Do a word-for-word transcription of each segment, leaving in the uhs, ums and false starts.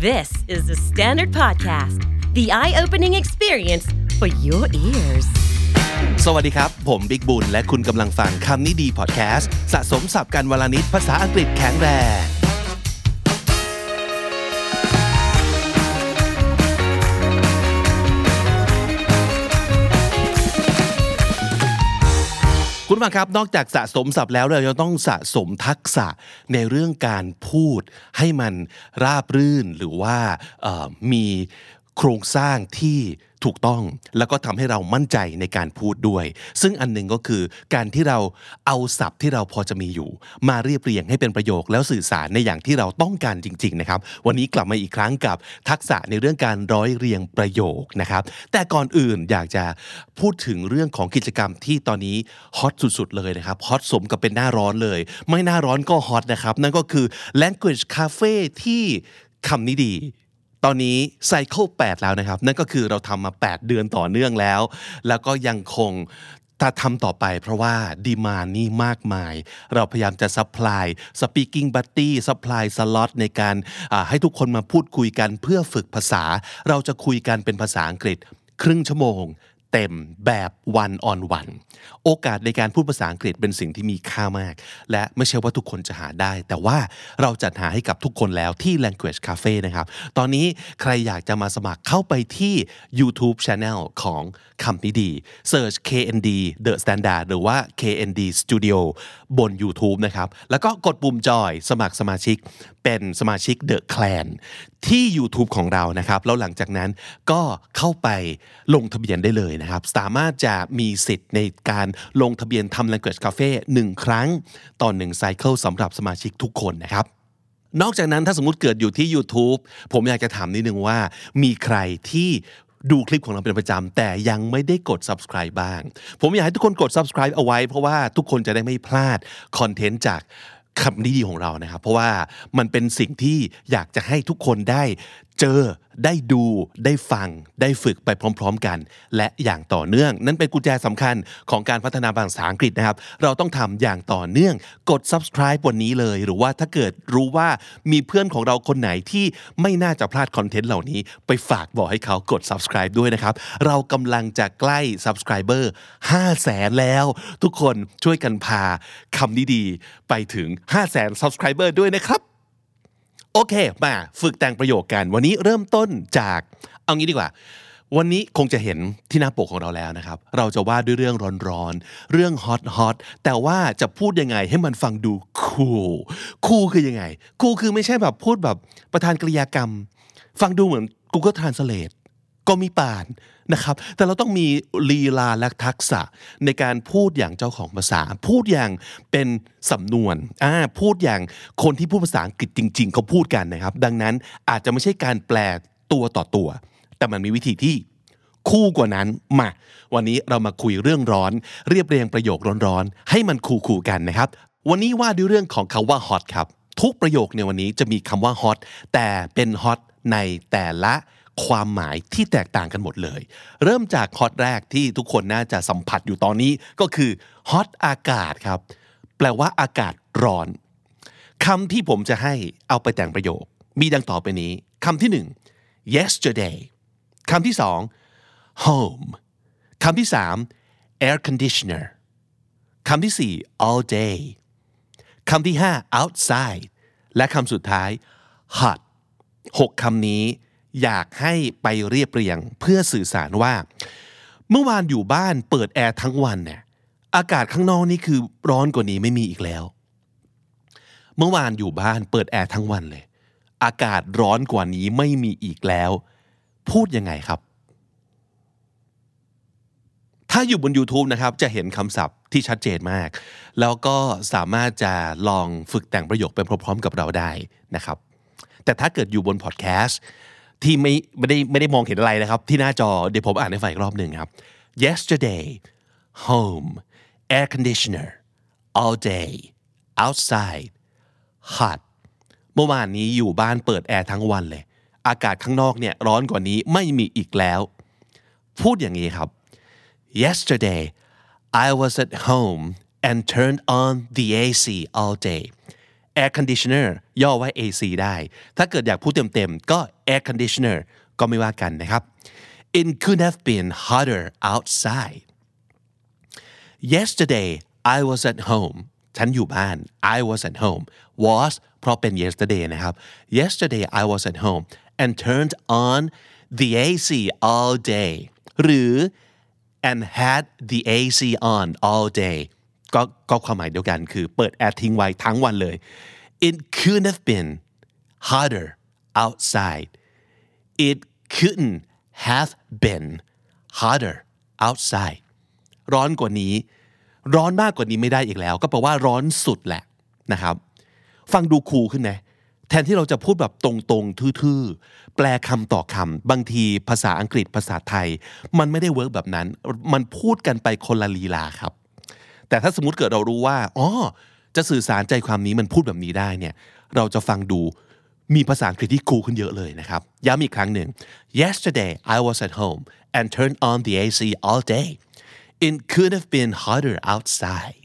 This is the Standard Podcast, the eye-opening experience for your ears. สวัสดีครับผมบิ๊กบุญและคุณกำลังฟังคำนี้ดีพอดแคสต์สะสมศัพท์กันวลนิดภาษาอังกฤษแข็งแรงคุณผู้ฟังครับนอกจากสะสมศัพท์แล้วเรายังต้องสะสมทักษะในเรื่องการพูดให้มันราบรื่นหรือว่ามีโครงสร้างที่ถูกต้องแล้วก็ทำให้เรามั่นใจในการพูดด้วยซึ่งอันหนึ่งก็คือการที่เราเอาศัพท์ที่เราพอจะมีอยู่มาเรียบเรียงให้เป็นประโยคแล้วสื่อสารในอย่างที่เราต้องการจริงๆนะครับวันนี้กลับมาอีกครั้งกับทักษะในเรื่องการร้อยเรียงประโยคนะครับแต่ก่อนอื่นอยากจะพูดถึงเรื่องของกิจกรรมที่ตอนนี้ฮอตสุดๆเลยนะครับฮอตสมกับเป็นหน้าร้อนเลยไม่หน้าร้อนก็ฮอตนะครับนั่นก็คือ Language Cafe ที่คำนี้ดีตอนนี้ไซเคิลแปดแล้วนะครับนั่นก็คือเราทำมาแปดเดือนต่อเนื่องแล้วแล้วก็ยังคงถ้าทำต่อไปเพราะว่าดีมานด์นี่มากมายเราพยายามจะซัพพลายสปีกิ้งบัดดี้ซัพพลายสล็อตในการให้ทุกคนมาพูดคุยกันเพื่อฝึกภาษาเราจะคุยกันเป็นภาษาอังกฤษครึ่งชั่วโมงเต็มแบบ one on one โอกาสในการพูดภาษาอังกฤษเป็นสิ่งที่มีค่ามากและไม่ใช่ว่าทุกคนจะหาได้แต่ว่าเราจัดหาให้กับทุกคนแล้วที่ Language Cafe นะครับตอนนี้ใครอยากจะมาสมัครเข้าไปที่ YouTube Channel ของคำนี้ดี Search เค เอ็น ดี The Standard หรือว่า เค เอ็น ดี Studio บน YouTube นะครับแล้วก็กดปุ่มจอยสมัครสมาชิกเป็นสมาชิก The Clan ที่ YouTube ของเรานะครับแล้วหลังจากนั้นก็เข้าไปลงทะเบียนได้เลยนะครับสามารถจะมีสิทธิ์ในการลงทะเบียนทำ Language Cafe หนึ่งครั้งต่อหนึ่งไซเคิลสำหรับสมาชิกทุกคนนะครับนอกจากนั้นถ้าสมมุติเกิดอยู่ที่ YouTube ผมอยากจะถามนิดนึงว่ามีใครที่ดูคลิปของเราเป็นประจำแต่ยังไม่ได้กด Subscribe บ้างผมอยากให้ทุกคนกด Subscribe เอาไว้เพราะว่าทุกคนจะได้ไม่พลาดคอนเทนต์จากคำนี้ดีของเรานะครับเพราะว่ามันเป็นสิ่งที่อยากจะให้ทุกคนได้เจอได้ดูได้ฟังได้ฝึกไปพร้อมๆกันและอย่างต่อเนื่องนั่นเป็นกุญแจสำคัญของการพัฒนาภาษาอังกฤษนะครับเราต้องทำอย่างต่อเนื่องกด Subscribe วันนี้เลยหรือว่าถ้าเกิดรู้ว่ามีเพื่อนของเราคนไหนที่ไม่น่าจะพลาดคอนเทนต์เหล่านี้ไปฝากบอกให้เขากด Subscribe ด้วยนะครับเรากำลังจะใกล้ Subscriber ห้าแสนแล้วทุกคนช่วยกันพาคำนี้ดีไปถึง ห้าแสน Subscriber ด้วยนะครับโอเคมาฝึกแต่งประโยคกันวันนี้เริ่มต้นจากเอางี้ดีกว่าวันนี้คงจะเห็นที่หน้าปกของเราแล้วนะครับเราจะว่าด้วยเรื่องร้อนๆเรื่องฮอตๆแต่ว่าจะพูดยังไงให้มันฟังดูคูลคูลคือยังไงคูลคือไม่ใช่แบบพูดแบบประธานกริยากรรมฟังดูเหมือน Google Translate ก็มีป่านนะครับแต่เราต้องมีลีลาและทักษะในการพูดอย่างเจ้าของภาษาพูดอย่างเป็นสำนวนอ่าพูดอย่างคนที่พูดภาษาอังกฤษจริงๆเขาพูดกันนะครับดังนั้นอาจจะไม่ใช่การแปลตัวต่อตัวแต่มันมีวิธีที่คู่กว่านั้นมาวันนี้เรามาคุยเรื่องร้อนเรียบเรียงประโยคร้อนๆให้มันคู่ๆกันนะครับวันนี้ว่าด้วยเรื่องของคำว่า hot ครับทุกประโยคในวันนี้จะมีคำว่า hot แต่เป็น hot ในแต่ละความหมายที่แตกต่างกันหมดเลยเริ่มจากฮอตแรกที่ทุกคนน่าจะสัมผัสอยู่ตอนนี้ก็คือฮอตอากาศครับแปลว่าอากาศร้อนคำที่ผมจะให้เอาไปแต่งประโยคมีดังต่อไปนี้คำที่หนึ่ง yesterday คำที่สอง home คำที่สาม air conditioner คำที่สี่ all day คำที่ห้า outside และคำสุดท้าย hot หกคำนี้อยากให้ไปเรียบเรียงเพื่อสื่อสารว่าเมื่อวานอยู่บ้านเปิดแอร์ทั้งวันเนี่ยอากาศข้างนอกนี่คือร้อนกว่านี้ไม่มีอีกแล้วเมื่อวานอยู่บ้านเปิดแอร์ทั้งวันเลยอากาศร้อนกว่านี้ไม่มีอีกแล้วพูดยังไงครับถ้าอยู่บน YouTube นะครับจะเห็นคำศัพท์ที่ชัดเจนมากแล้วก็สามารถจะลองฝึกแต่งประโยคไปพร้อมๆกับเราได้นะครับแต่ถ้าเกิดอยู่บนพอดแคสต์ที่ไม่ไม่ได้ไม่ได้มองเห็นอะไรนะครับที่หน้าจอเดี๋ยวผมอ่านให้ฟังอีกรอบหนึ่งครับ yesterday home air conditioner all day outside hot เมื่อวานนี้อยู่บ้านเปิดแอร์ทั้งวันเลยอากาศข้างนอกเนี่ยร้อนกว่านี้ไม่มีอีกแล้วพูดอย่างนี้ครับ yesterday I was at home and turned on the เอ ซี all day air conditioner ย่อว่า เอ ซี ได้ถ้าเกิดอยากพูดเต็มๆก็ air conditioner ก็ไม่ว่ากันนะครับ It could have been hotter outside Yesterday I was at home ฉันอยู่บ้าน I was at home was เพราะเป็น yesterday นะครับ Yesterday I was at home and turned on the เอ ซี all day หรือ and had the เอ ซี on all day ก็ก็ความหมายเดียวกันคือเปิดแอร์ทิ้งไว้ทั้งวันเลย It couldn't have been hotter outside It couldn't have been hotter outside ร้อนกว่านี้ร้อนมากกว่านี้ไม่ได้อีกแล้วก็แปลว่าร้อนสุดแหละนะครับฟังดูคูลขึ้นนะแทนที่เราจะพูดแบบตรงๆทื่อๆแปลคำต่อคำบางทีภาษาอังกฤษภาษาไทยมันไม่ได้เวิร์กแบบนั้นมันพูดกันไปคนละลีลาครับแต่ถ้าสมมุติเกิดเรารู้ว่าอ๋อจะสื่อสารใจความนี้มันพูดแบบนี้ได้เนี่ยเราจะฟังดูมีภาษาอังกฤษที่คูลขึ้นเยอะเลยนะครับย้ำอีกครั้งหนึ่ง Yesterday I was at home and turned on the เอ ซี all day It could have been hotter outside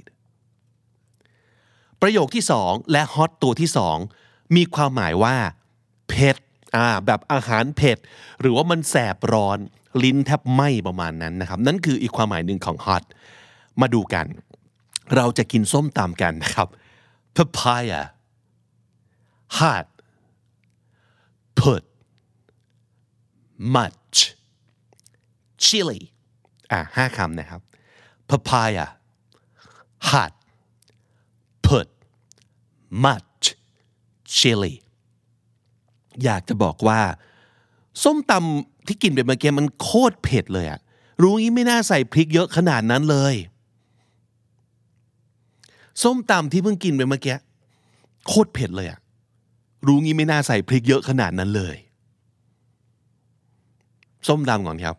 ประโยคที่สองและ hot ตัวที่สองมีความหมายว่าเผ็ดอ่าแบบอาหารเผ็ดหรือว่ามันแสบร้อนลิ้นแทบไหม้ประมาณนั้นนะครับนั่นคืออีกความหมายหนึ่งของ hot มาดูกันเราจะกินส้มตำกันนะครับ papaya hot put much chili อ่ะห้าคำนะครับ papaya hot put much chili อยากจะบอกว่าส้มตำที่กินไปเมื่อกี้มันโคตรเผ็ดเลยอะรู้งี้ไม่น่าใส่พริกเยอะขนาดนั้นเลยส้มตำที่เพิ่งกินไปเมื่อกี้โคตรเผ็ดเลยอะรู้งี้ไม่น่าใส่พริกเยอะขนาดนั้นเลยส้มตำก่อนครับ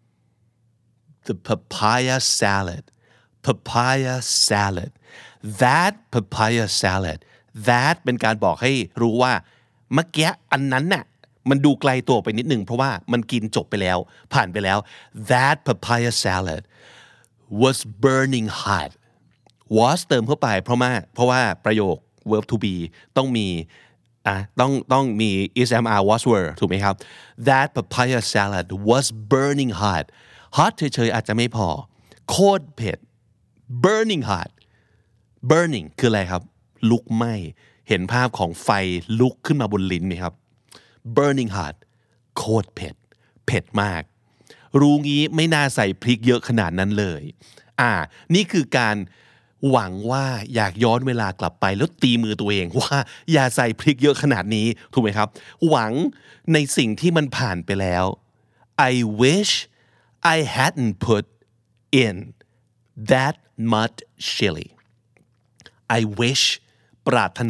the papaya salad papaya salad that papaya salad that เป็นการบอกให้รู้ว่าเมื่อกี้อันนั้นน่ะมันดูไกลตัวไปนิดนึงเพราะว่ามันกินจบไปแล้วผ่านไปแล้ว that papaya salad was burning hot was เติมเข้าไปเพราะว่าเพราะว่าประโยค verb to be ต้องมีอ่ะต้องต้องมี is am are was were ถูกไหมครับ that papaya salad was burning hot hot เฉยๆอาจจะไม่พอโคตรเผ็ด burning hot burning คืออะไรครับลุกไหม้เห็นภาพของไฟลุกขึ้นมาบนลิ้นไหมครับ burning hot โคตรเผ็ดเผ็ดมากรู้งี้ไม่น่าใส่พริกเยอะขนาดนั้นเลยอ่านี่คือการหวังว่าอยากย้อนเวลากลับไปแล้วตีมือตัวเองว่าอย่าใส่พริกเยอะขนาดนี้ถูกไหมครับหวังในสิ่งที่มันผ่านไปแล้ว I wish I hadn't put in that much chili I wish ปรารถนา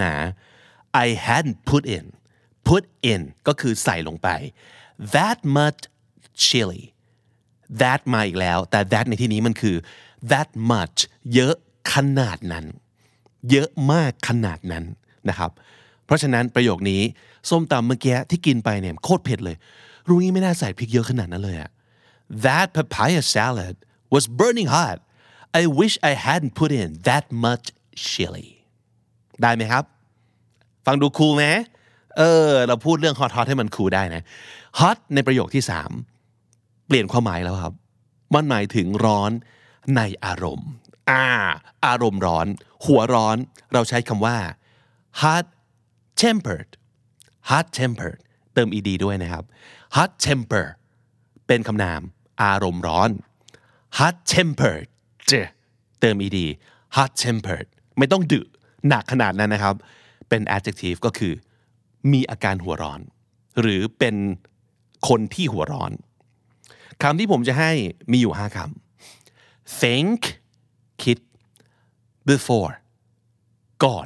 I hadn't put in put in ก็คือใส่ลงไป that much chili that มาอีกแล้วแต่ that ในที่นี้มันคือ that much เยอะขนาดนั้นเยอะมากขนาดนั้นนะครับเพราะฉะนั้นประโยคนี้ส้มตำเมื่อกี้ที่กินไปเนี่ยโคตรเผ็ดเลยรู้งี้ไม่น่าใส่พริกเยอะขนาดนั้นเลยอะ That papaya salad was burning hot I wish I hadn't put in that much chili ได้ไหมครับฟังดูคูลไหมเออเราพูดเรื่อง hot hot ให้มันคูลได้นะ hot ในประโยคที่สามเปลี่ยนความหมายแล้วครับมันหมายถึงร้อนในอารมณ์อ่าอารมณ์ร้อนหัวร้อนเราใช้คำว่า hot tempered hot tempered เติม ed ด้วยนะครับ hot temper เป็นคำนามอารมณ์ร้อน hot tempered เติม ed hot tempered ไม่ต้องดึหนักขนาดนั้นนะครับเป็น adjective ก็คือมีอาการหัวร้อนหรือเป็นคนที่หัวร้อนคำที่ผมจะให้มีอยู่ห้าคำ think คิด before ก่อน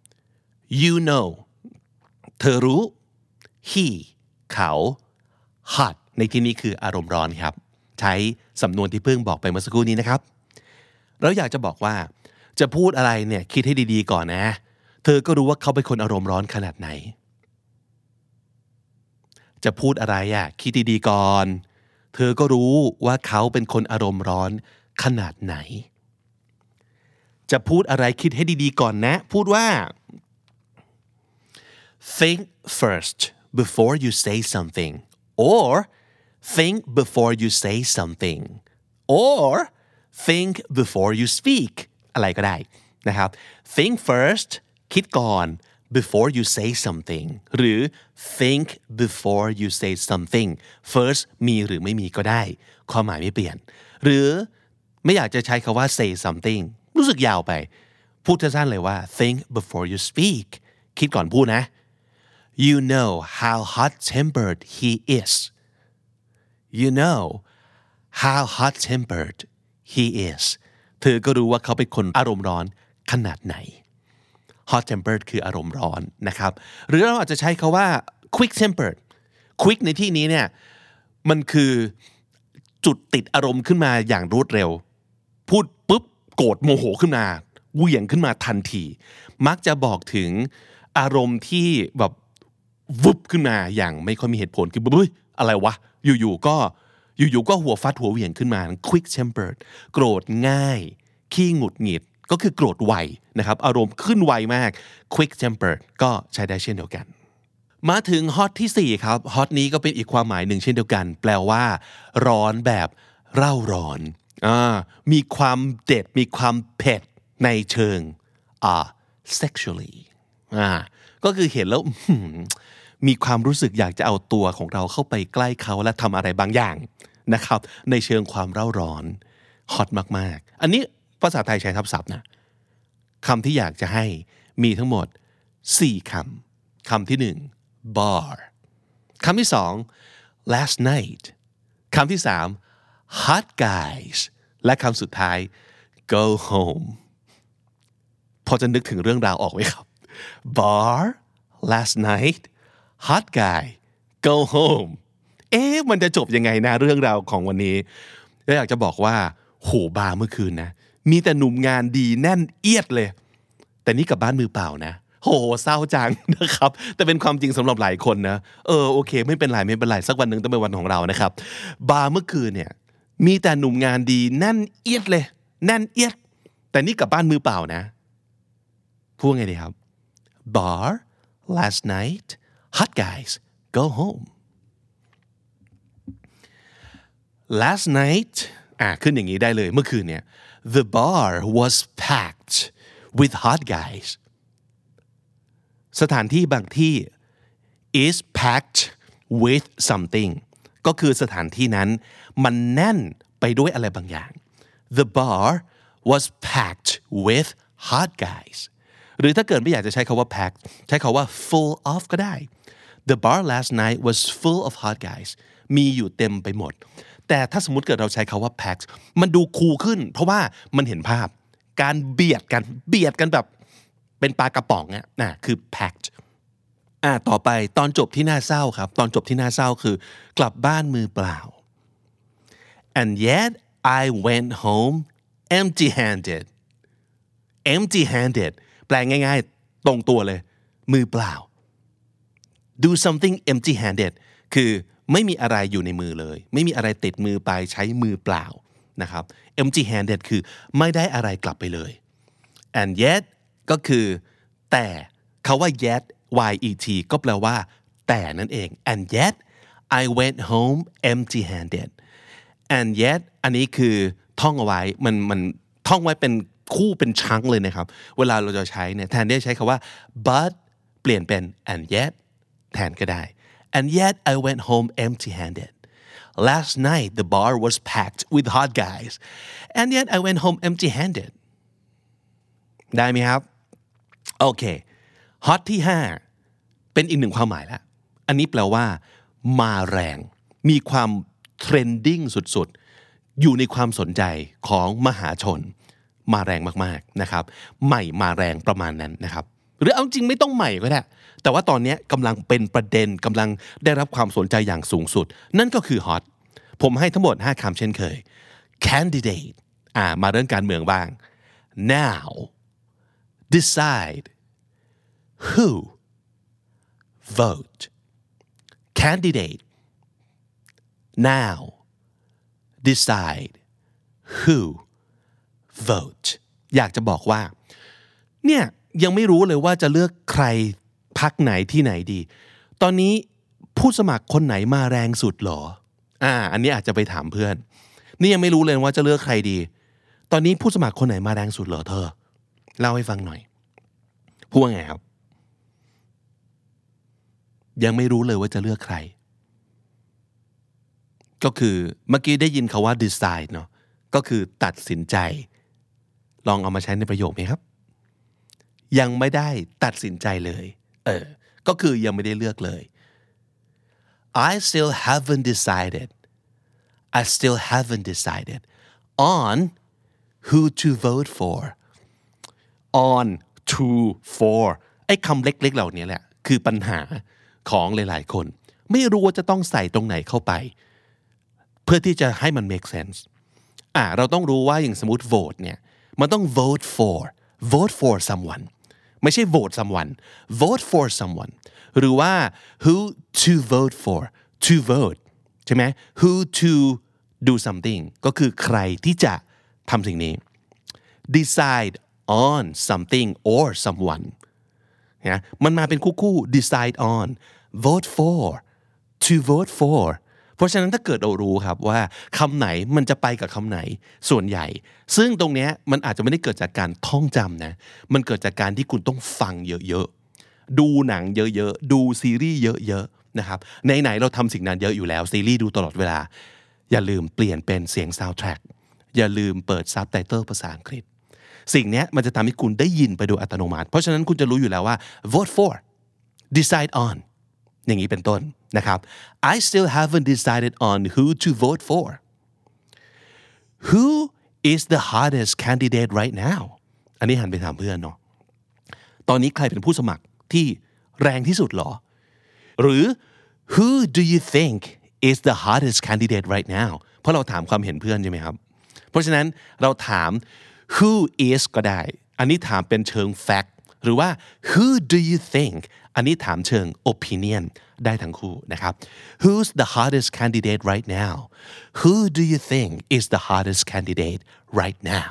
you know เธอรู้ he เขา hot ในที่นี้คืออารมณ์ร้อนครับใช้สำนวนที่เพิ่งบอกไปเมื่อสักครู่นี้นะครับแล้วอยากจะบอกว่าจะพูดอะไรเนี่ยคิดให้ดีๆก่อนนะเธอก็รู้ว่าเขาเป็นคนอารมณ์ร้อนขนาดไหนจะพูดอะไรอ่ะคิดดีๆก่อนเธอก็รู้ว่าเขาเป็นคนอารมณ์ร้อนขนาดไหนจะพูดอะไรคิดให้ดีๆก่อนนะพูดว่า think first before you say something or think before you say something or think before you speak อะไรก็ได้นะครับ think first คิดก่อน before you say something หรือ think before you say something first มีหรือไม่มีก็ได้ความหมายไม่เปลี่ยนหรือไม่อยากจะใช้คำว่า say something รู้สึกยาวไปพูดสั้นๆเลยว่า think before you speak คิดก่อนพูดนะ you know how hot-tempered he is you know how hot-tempered he is เธอก็รู้ว่าเขาเป็นคนอารมณ์ร้อนขนาดไหน hot-tempered คืออารมณ์ร้อนนะครับหรือเราอาจจะใช้คาว่า quick-tempered quick ในที่นี้เนี่ยมันคือจุดติดอารมณ์ขึ้นมาอย่างรวดเร็วพูดปุ๊บโกรธโมโหขึ้นมาเหวี่ยงขึ้นมาทันทีมักจะบอกถึงอารมณ์ที่แบบวุบขึ้นมาอย่างไม่ค่อยมีเหตุผลคือเฮ้ยอะไรวะอยู่ๆก็อยู่ๆก็หัวฟัดหัวเหวี่ยงขึ้นมา quick tempered โกรธง่ายขี้หงุดหงิดก็คือโกรธไวนะครับอารมณ์ขึ้นไวมาก quick tempered ก็ใช้ได้เช่นเดียวกันมาถึง hot ที่สี่ครับ hot นี้ก็เป็นอีกความหมายหนึ่งเช่นเดียวกันแปลว่าร้อนแบบเร่าร้อนอ่ามีความเด็ดมีความเผ็ดในเชิงอ่า sexually อ่าก็คือเห็นแล้วมีความรู้สึกอยากจะเอาตัวของเราเข้าไปใกล้เขาและทำอะไรบางอย่างนะครับในเชิงความเร่าร้อน hot มากๆอันนี้ภาษาไทยใช้ทับศัพท์นะคำที่อยากจะให้มีทั้งหมดสี่คำคำที่หนึ่ง bar คำที่สอง last night คำที่สาม hot guys และคำสุดท้าย go home พอจะนึกถึงเรื่องราวออกไหมครับ bar last night hot guy go home เอ๊ะมันจะจบยังไงนะเรื่องราวของวันนี้อยากจะบอกว่าโหบาร์เมื่อคืนนะมีแต่หนุ่มงานดีแน่นเอียดเลยแต่นี่กลับบ้านมือเปล่านะโหเศร้าจังนะครับแต่เป็นความจริงสำหรับหลายคนนะเออโอเคไม่เป็นไรไม่เป็นไรสักวันหนึ่งต้องเป็นวันของเรานะครับบาร์เมื่อคืนเนี่ยมีแต่หนุ่มงานดีแน่นเอียดเลยแน่นเอียดแต่นี่กลับบ้านมือเปล่านะพูดไงดีครับ bar last night hot guys go home last night อ่ะขึ้นอย่างนี้ได้เลยเมื่อคืนเนี่ย the bar was packed with hot guys สถานที่บางที่ is packed with something ก็คือสถานที่นั้นมันแน่นไปด้วยอะไรบางอย่าง the bar was packed with hot guys หรือถ้าเกิดไม่อยากจะใช้คำว่า packed ใช้คำว่า full of ก็ได้ the bar last night was full of hot guys มีอยู่เต็มไปหมดแต่ถ้าสมมุติเกิดเราใช้คำว่า packed มันดูคูลขึ้นเพราะว่ามันเห็นภาพการเบียดกันเบียดกันแบบเป็นปลากระป๋องอ่ะนะคือ packed อ่ะต่อไปตอนจบที่น่าเศร้าครับตอนจบที่น่าเศร้าคือกลับบ้านมือเปล่า and yet I went home empty-handed empty-handed แปลง่ายๆตรงตัวเลยมือเปล่า do something empty-handed คือไม่มีอะไรอยู่ในมือเลยไม่มีอะไรติดมือไปใช้มือเปล่านะครับ empty-handed คือไม่ได้อะไรกลับไปเลย and yet ก็คือแต่คาว่า yet yet ก็แปลว่าแต่นั่นเอง and yet I went home empty-handed and yet อันนี้คือท่องเอาไว้มันมันท่องไว้เป็นคู่เป็นชั้งเลยนะครับเวลาเราจะใช้เนี่ยแทนที่จะใช้คำว่า but เปลี่ยนเป็น and yet แทนก็ได้ and yet I went home empty-handed last night the bar was packed with hot guys and yet I went home empty-handed ได้ไหมครับโอเค hot ที่ห้าเป็นอีกหนึ่งความหมายแล้วอันนี้แปลว่ามาแรงมีความเทรนดิ้งสุดๆอยู่ในความสนใจของมหาชนมาแรงมากๆนะครับใหม่มาแรงประมาณนั้นนะครับหรือเอาจริงไม่ต้องใหม่ก็ได้แต่ว่าตอนนี้กำลังเป็นประเด็นกำลังได้รับความสนใจอย่างสูงสุดนั่นก็คือ hot ผมให้ทั้งหมดห้าคำเช่นเคย candidate อ่ามาเรื่องการเมืองบ้าง now decide who vote candidate now decide who vote อยากจะบอกว่าเนี่ยยังไม่รู้เลยว่าจะเลือกใครพรรคไหนที่ไหนดีตอนนี้ผู้สมัครคนไหนมาแรงสุดหรออ่าอันนี้อาจจะไปถามเพื่อนนี่ยังไม่รู้เลยว่าจะเลือกใครดีตอนนี้ผู้สมัครคนไหนมาแรงสุดเหรอเธอเล่าให้ฟังหน่อยพูดว่าไงครับยังไม่รู้เลยว่าจะเลือกใครก็คือเมื่อกี้ได้ยินคำว่า decide เนาะก็คือตัดสินใจลองเอามาใช้ในประโยคไหมครับยังไม่ได้ตัดสินใจเลยเออก็คือยังไม่ได้เลือกเลย I still haven't decided I still haven't decided on who to vote for on to for ไอ้คำเล็กๆเหล่านี้แหละคือปัญหาของหลายๆคนไม่รู้ว่าจะต้องใส่ตรงไหนเข้าไปเพื่อที่จะให้มัน make sense อ่ะเราต้องรู้ว่าอย่างสมมุติ vote เนี่ยมันต้อง vote for vote for someone ไม่ใช่ vote someone vote for someone หรือว่า who to vote for to vote ใช่ไหม who to do something ก็คือใครที่จะทำสิ่งนี้ decide on something or someone นะมันมาเป็นคู่ๆ decide on vote for to vote for เพราะฉะนั้นถ้าเกิดเรารู้ครับว่าคำไหนมันจะไปกับคำไหนส่วนใหญ่ซึ่งตรงนี้มันอาจจะไม่ได้เกิดจากการท่องจำนะมันเกิดจากการที่คุณต้องฟังเยอะๆดูหนังเยอะๆดูซีรีส์เยอะๆนะครับไหนๆเราทำสิ่งนั้นเยอะอยู่แล้วซีรีส์ดูตลอดเวลาอย่าลืมเปลี่ยนเป็นเสียง soundtrack อย่าลืมเปิด subtitle ภาษาอังกฤษสิ่งนี้มันจะทำให้คุณได้ยินไปโดยอัตโนมัติเพราะฉะนั้นคุณจะรู้อยู่แล้วว่า vote for decide on อย่างนี้เป็นต้นนะครับ I still haven't decided on who to vote for who is the hottest candidate right now อันนี้หันไปถามเพื่อนเนาะตอนนี้ใครเป็นผู้สมัครที่แรงที่สุดหรอหรือ who do you think is the hottest candidate right now เพราะเราถามความเห็นเพื่อนใช่ไหมครับเพราะฉะนั้นเราถาม who is ก็ได้อันนี้ถามเป็นเชิง fact หรือว่า who do you think อันนี้ถามเชิง opinion ได้ทั้งคู่นะครับ who's the hottest candidate right now who do you think is the hottest candidate right now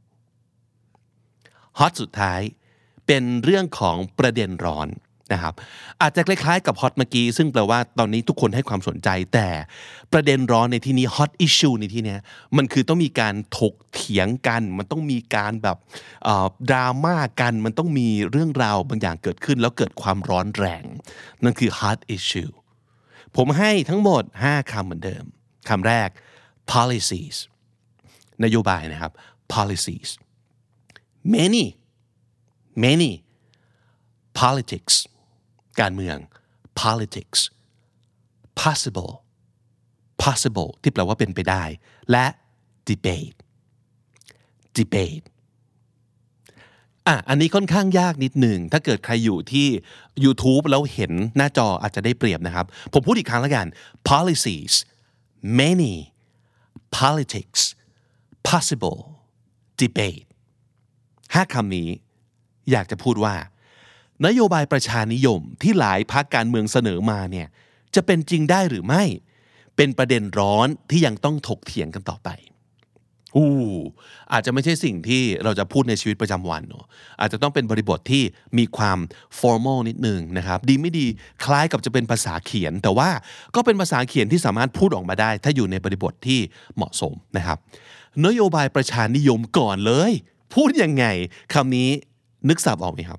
hot สุดท้ายเป็นเรื่องของประเด็นร้อนนะครับอาจจะคล้ายๆกับ hot เมื่อกี้ซึ่งแปลว่าตอนนี้ทุกคนให้ความสนใจแต่ประเด็นร้อนในที่นี้ hot issue ในที่นี้มันคือต้องมีการถกเถียงกันมันต้องมีการแบบดราม่ากันมันต้องมีเรื่องราวบางอย่างเกิดขึ้นแล้วเกิดความร้อนแรงนั่นคือ hot issue ผมให้ทั้งหมดห้าคำเหมือนเดิมคำแรก policies นโยบายนะครับ policies many many politics การเมือง politics possible possible ที่แปลว่าเป็นไปได้และ debate debate อ่ะอันนี้ค่อนข้างยากนิดหนึ่งถ้าเกิดใครอยู่ที่ YouTube แล้วเห็นหน้าจออาจจะได้เปรียบนะครับผมพูดอีกครั้งแล้วกัน policies many politics possible debate ห้าคำนี้อยากจะพูดว่านโยบายประชานิยมที่หลายพรรคการเมืองเสนอมาเนี่ยจะเป็นจริงได้หรือไม่เป็นประเด็นร้อนที่ยังต้องถกเถียงกันต่อไปอู้อาจจะไม่ใช่สิ่งที่เราจะพูดในชีวิตประจำวันเนอะอาจจะต้องเป็นบริบทที่มีความ formal นิดนึงนะครับดีไม่ดีคล้ายกับจะเป็นภาษาเขียนแต่ว่าก็เป็นภาษาเขียนที่สามารถพูดออกมาได้ถ้าอยู่ในบริบทที่เหมาะสมนะครับนโยบายประชานิยมก่อนเลยพูดยังไงคำนี้นึกศัพท์ออกไหมครับ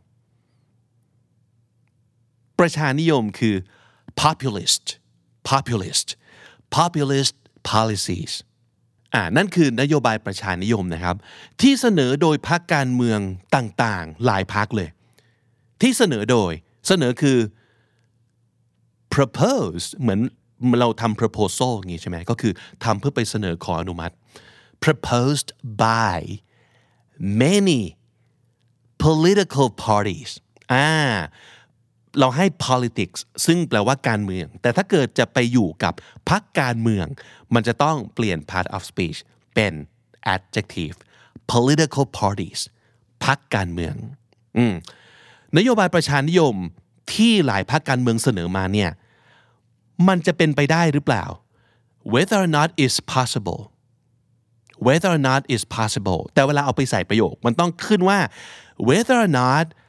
ประชานิยมคือ populist populist populist policies อ่านั่นคือนโยบายประชานิยมนะครับที่เสนอโดยพรรคการเมืองต่างๆหลายพรรคเลยที่เสนอโดยเสนอคือ propose เหมือนเราทำ proposal อย่างงี้ใช่ไหมก็คือทำเพื่อไปเสนอขออนุมัติ proposed by many political parties อ่าเราให้ politics ซึ่งแปลว่าการเมืองแต่ถ้าเกิดจะไปอยู่กับพรรคการเมืองมันจะต้องเปลี่ยน part of speech เป็น adjective political parties พรรคการเมืองอืมนโยบายประชานิยมที่หลายพรรคการเมืองเสนอมาเนี่ยมันจะเป็นไปได้หรือเปล่า whether or not is possible whether or not is possible แต่เวลาเอาไปใส่ประโยคมันต้องขึ้นว่า whether or not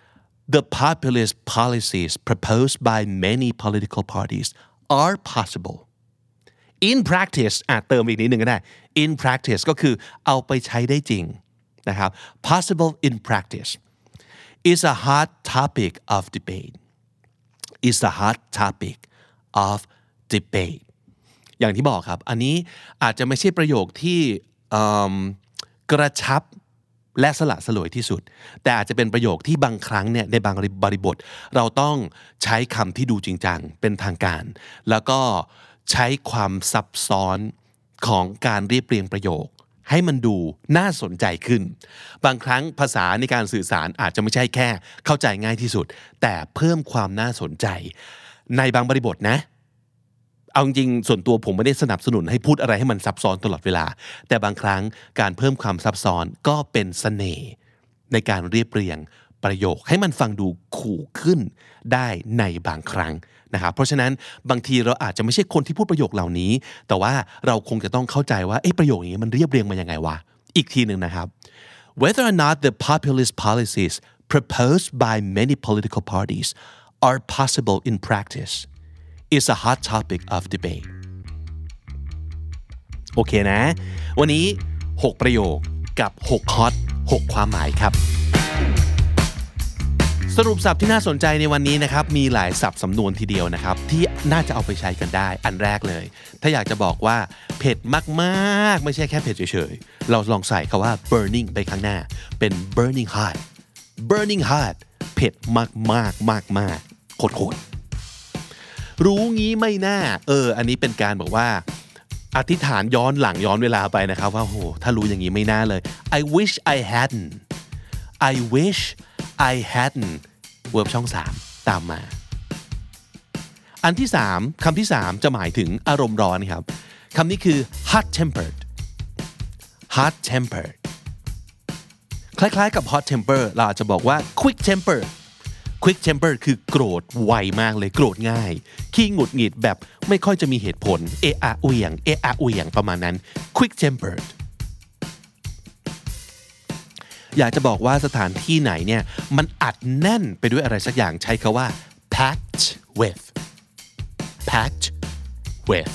The populist policies proposed by many political parties are possible in practice อ่ะเติมอีกนิดนึงก็ได้ in practice ก็คือเอาไปใช้ได้จริงนะครับ possible in practice is a hot topic of debate is a hot topic of debate อย่างที่บอกครับอันนี้อาจจะไม่ใช่ประโยคที่กระชับและสละสลวยที่สุดแต่อาจจะเป็นประโยคที่บางครั้งเนี่ยในบางบริบทเราต้องใช้คำที่ดูจริงจังเป็นทางการแล้วก็ใช้ความซับซ้อนของการเรียบเรียงประโยคให้มันดูน่าสนใจขึ้นบางครั้งภาษาในการสื่อสารอาจจะไม่ใช่แค่เข้าใจง่ายที่สุดแต่เพิ่มความน่าสนใจในบางบริบทนะเอาจริงส่วนตัวผมไม่ได้สนับสนุนให้พูดอะไรให้มันซับซ้อนตลอดเวลาแต่บางครั้งการเพิ่มความซับซ้อนก็เป็นเสน่ห์ในการเรียบเรียงประโยคให้มันฟังดูขู่ขึ้นได้ในบางครั้งนะครับเพราะฉะนั้นบางทีเราอาจจะไม่ใช่คนที่พูดประโยคเหล่านี้แต่ว่าเราคงจะต้องเข้าใจว่าเอ๊ะประโยคนี้มันเรียบเรียงมายังไงวะอีกทีนึงนะครับ Whether or not the populist policies proposed by many political parties are possible in practice is a hot topic of debate โอเคนะวันนี้หกประโยคกับหกฮอตหกความหมายครับสรุปศัพท์ที่น่าสนใจในวันนี้นะครับมีหลายศัพท์สำนวนทีเดียวนะครับที่น่าจะเอาไปใช้กันได้อันแรกเลยถ้าอยากจะบอกว่าเผ็ดมากๆไม่ใช่แค่เผ็ดเฉยๆเราลองใส่คำว่า burning ไปข้างหน้าเป็น burning hot burning hot เผ็ดมากๆมากๆโคตรๆรู้งี้ไม่น่าเอออันนี้เป็นการบอกว่าอธิษฐานย้อนหลังย้อนเวลาไปนะครับว่าโหถ้ารู้อย่างนี้ไม่น่าเลย I wish I hadn't I wish I hadn't เวิร์บช่องสามตามมาอันที่สามคำที่สามจะหมายถึงอารมณ์ร้อนครับคำนี้คือ hot tempered hot tempered คล้ายๆกับ hot temper เราอาจจะบอกว่า quick temper quick temper คือโกรธไวมากเลยโกรธง่ายขี้หงุดหงิดแบบไม่ค่อยจะมีเหตุผลเอะอะเหวี่ยงเอะอะเหวี่ยงประมาณนั้น quick temperedอยากจะบอกว่าสถานที่ไหนเนี่ยมันอัดแน่นไปด้วยอะไรสักอย่างใช้คำว่า packed with packed with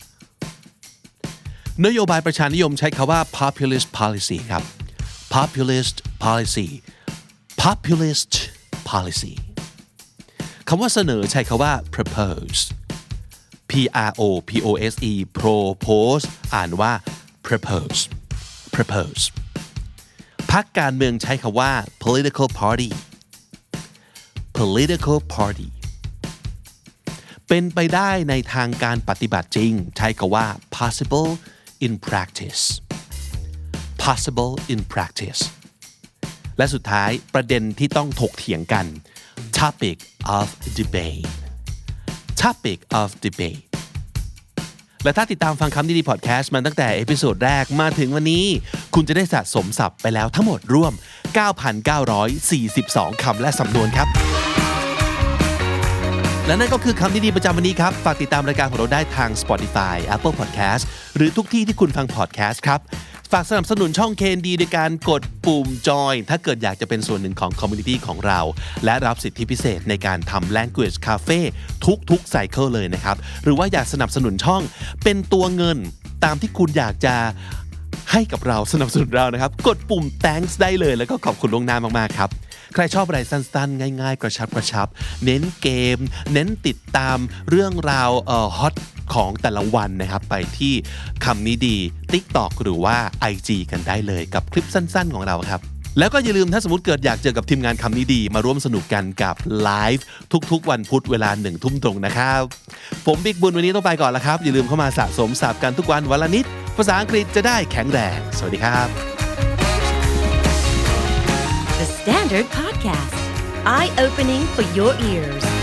นโยบายประชานิยมใช้คำว่า populist policy ครับ populist policy populist policy คำว่าเสนอใช้คำว่า propose p r o p o s e propose อ่านว่า propose proposeพรรคการเมืองใช้คำว่า political party political party เป็นไปได้ในทางการปฏิบัติจริงใช้คำว่า possible in practice possible in practice และสุดท้ายประเด็นที่ต้องถกเถียงกัน topic of debate topic of debateและถ้าติดตามฟังคำดีๆพอดแคสต์มาตั้งแต่เอพิโซดแรกมาถึงวันนี้คุณจะได้สะสมศัพท์ไปแล้วทั้งหมดรวม เก้าพันเก้าร้อยสี่สิบสอง คำและสำนวนครับและนั่นก็คือคำดีๆประจำวันนี้ครับฝากติดตามรายการของเราได้ทาง Spotify Apple Podcast หรือทุกที่ที่คุณฟังพอดแคสต์ครับฝากสนับสนุนช่อง เค เอ็น ดี โดยการกดปุ่ม Join ถ้าเกิดอยากจะเป็นส่วนหนึ่งของ Community ของเราและรับสิทธิพิเศษในการทำ Language Cafe ทุกๆไซเคิลเลยนะครับหรือว่าอยากสนับสนุนช่องเป็นตัวเงินตามที่คุณอยากจะให้กับเราสนับสนุนเรานะครับกดปุ่ม Thanks ได้เลยแล้วก็ขอบคุณล่วงหน้ามากๆครับใครชอบอะไรสั้นๆง่ายๆกระชับกระชับเน้นเกมเน้นติดตามเรื่องราวเอ่อฮอตของแต่ละวันนะครับไปที่คำนี้ดี TikTok หรือว่า ไอ จี กันได้เลยกับคลิปสั้นๆของเราครับแล้วก็อย่าลืมถ้าสมมติเกิดอยากเจอกับทีมงานคำนี้ดีมาร่วมสนุกกันกับไลฟ์ทุกๆวันพุธเวลาหนึ่งทุ่มตรงนะครับผมบิ๊กบุญวันนี้ต้องไปก่อนแล้วครับอย่าลืมเข้ามาสะสมศัพท์กันทุกวันวันละนิดภาษาอังกฤษจะได้แข็งแรงสวัสดีครับ The Standard Podcast Eye Opening for Your Ears